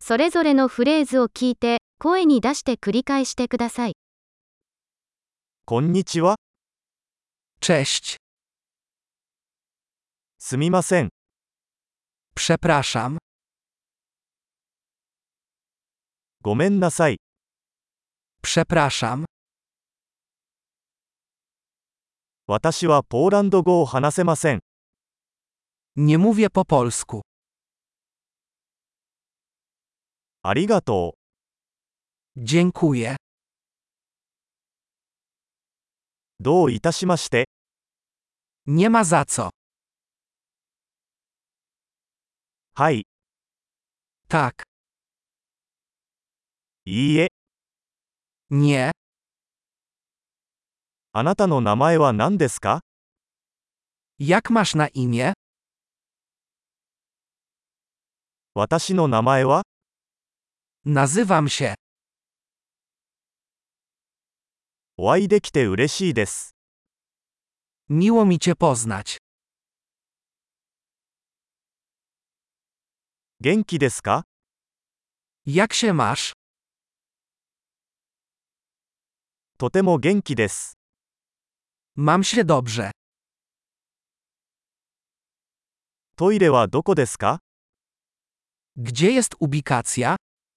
それぞれのフレーズを聞いて、声に出して繰り返してください。 こんにちは。 Cześć. すみません。 Przepraszam. ごめんなさい。 Przepraszam. 私はポーランド語を話せません。 Nie mówię po polsku. ありがとう。 Dziękuję. どういたしまして。 Nie ma za co. はい。 Tak. いいえ。 Nie. あなたの名前は何ですか？ Jak masz na imię? 私の名前は？ Nazywam się. お会いできて嬉しいです。 Miło mi cię poznać. 元気ですか？ Jak się masz? とても元気です。 Mam się dobrze. トイレはどこですか？ Gdzie jest ubikacja?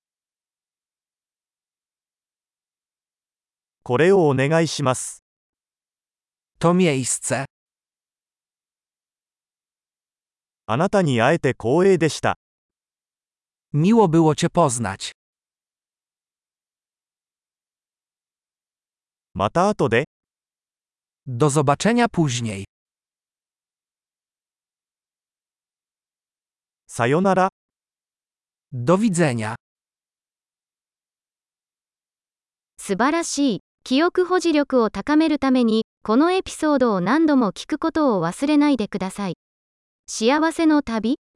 これをお願いします。 To miejsce. あなたに会えて光栄でした。 Miło było cię poznać. また後で。 Do zobaczenia później. さよなら。 Do widzenia. 素晴らしい。記憶保持力を高めるために、このエピソードを何度も聞くことを忘れないでください。幸せの旅